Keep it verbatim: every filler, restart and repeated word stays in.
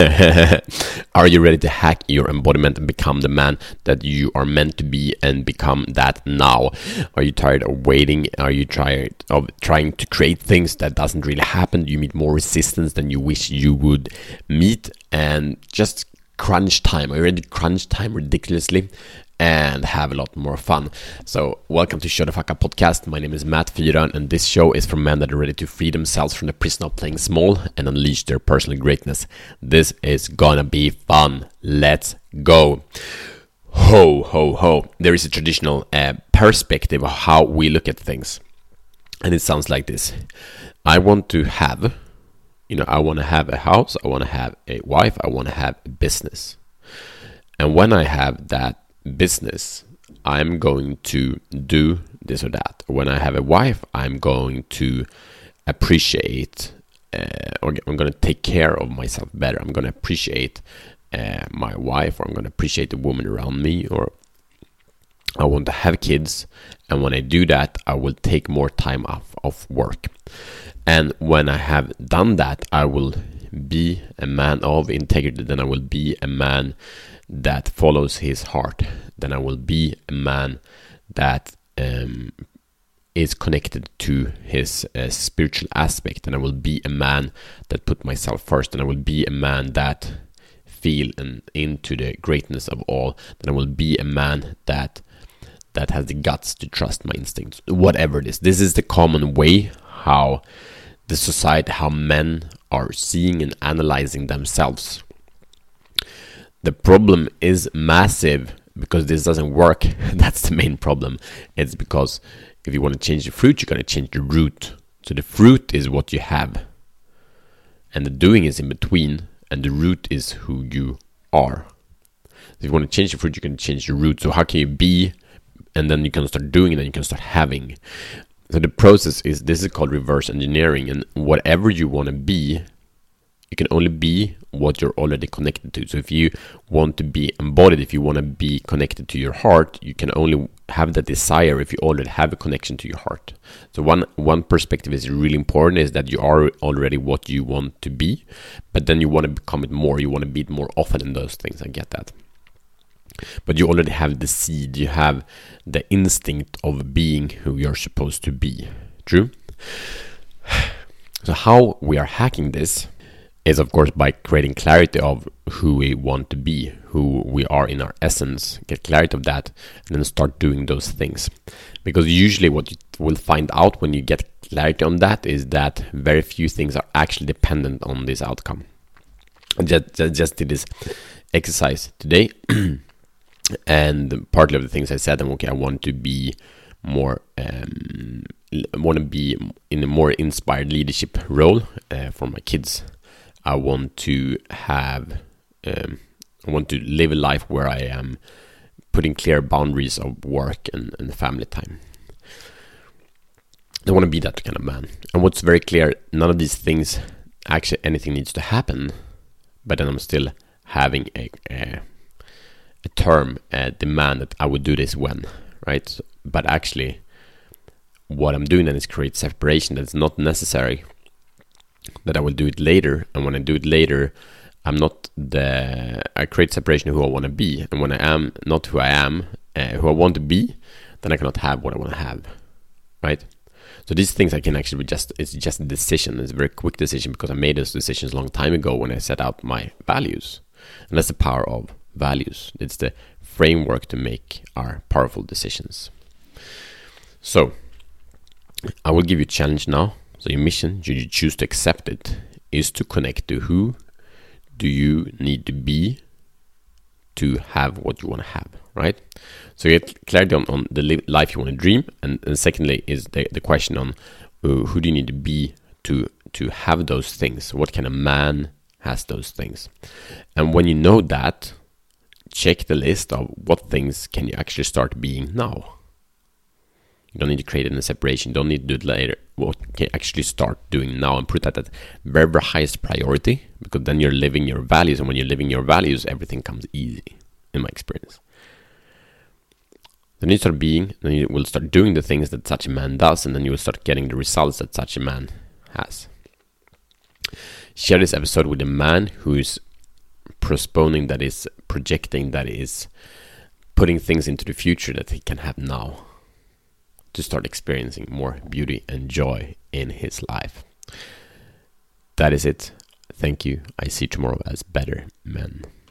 Are you ready to hack your embodiment and become the man that you are meant to be and become that now? Are you tired of waiting? Are you tired of trying to create things that doesn't really happen? You meet more resistance than you wish you would meet, and just crunch time. Are you ready to crunch time ridiculously and have a lot more fun? So welcome to Show the Fuck Up podcast. My name is Matt Fyron, and this show is for men that are ready to free themselves from the prison of playing small and unleash their personal greatness. This is gonna be fun. Let's go. Ho, ho, ho. There is a traditional uh, perspective of how we look at things, and it sounds like this. I want to have, you know, I want to have a house, I want to have a wife, I want to have a business. And when I have that business, I'm going to do this or that. When I have a wife, I'm going to appreciate, uh, or I'm going to take care of myself better. I'm going to appreciate uh, my wife, or I'm going to appreciate the woman around me, or I want to have kids. And when I do that, I will take more time off of work. And when I have done that, I will be a man of integrity. Then I will be a man that follows his heart. Then I will be a man that um, is connected to his uh, spiritual aspect. And I will be a man that put myself first. And I will be a man that feel and into the greatness of all. Then I will be a man that that has the guts to trust my instincts. Whatever it is. This is the common way how the society, how men are seeing and analyzing themselves. The problem is massive because this doesn't work. That's the main problem. It's because if you want to change the fruit, you're going to change the root. So the fruit is what you have, and the doing is in between, and the root is who you are. So if you want to change the fruit, you're going to change the root. So how can you be, and then you can start doing, and then you can start having. So the process is, this is called reverse engineering, and whatever you want to be, you can only be what you're already connected to. So if you want to be embodied, if you want to be connected to your heart, you can only have that desire if you already have a connection to your heart. So one one perspective is really important, is that you are already what you want to be, but then you want to become it more. You want to be it more often in those things. I get that. But you already have the seed. You have the instinct of being who you're supposed to be. True? So how we are hacking this is, of course, by creating clarity of who we want to be, who we are in our essence, get clarity of that, and then start doing those things. Because usually what you will find out when you get clarity on that is that very few things are actually dependent on this outcome. I just, just, just did this exercise today, and partly of the things I said, I'm okay, I want to be more, um, I want to be in a more inspired leadership role uh, for my kids. I want to have, um, I want to live a life where I am putting clear boundaries of work and, and family time. I want to be that kind of man. And what's very clear, none of these things, actually anything needs to happen, but then I'm still having a, a, a term, a demand that I would do this when, right? But actually, what I'm doing then is create separation that's not necessary, that I will do it later. And when I do it later, I'm not the, I create separation of who I want to be. And when I am not who I am, uh, who I want to be, then I cannot have what I want to have, right? So these things I can actually just, it's just a decision. It's a very quick decision because I made those decisions a long time ago when I set out my values. And that's the power of values. It's the framework to make our powerful decisions. So I will give you a challenge now. So your mission, should you choose to accept it, is to connect to who do you need to be to have what you want to have, right? So you get clarity on, on the li- life you want to dream. And, and secondly is the, the question on uh, who do you need to be to, to have those things? What kind of man has those things? And when you know that, check the list of what things can you actually start being now. You don't need to create any separation. You don't need to do it later. What can you actually start doing now and put that at very, very highest priority, because then you're living your values. And when you're living your values, everything comes easy, in my experience. Then you start being, then you will start doing the things that such a man does, and then you will start getting the results that such a man has. Share this episode with a man who is postponing, that is projecting, that is putting things into the future that he can have now, to start experiencing more beauty and joy in his life. That is it. Thank you. I see tomorrow as better men.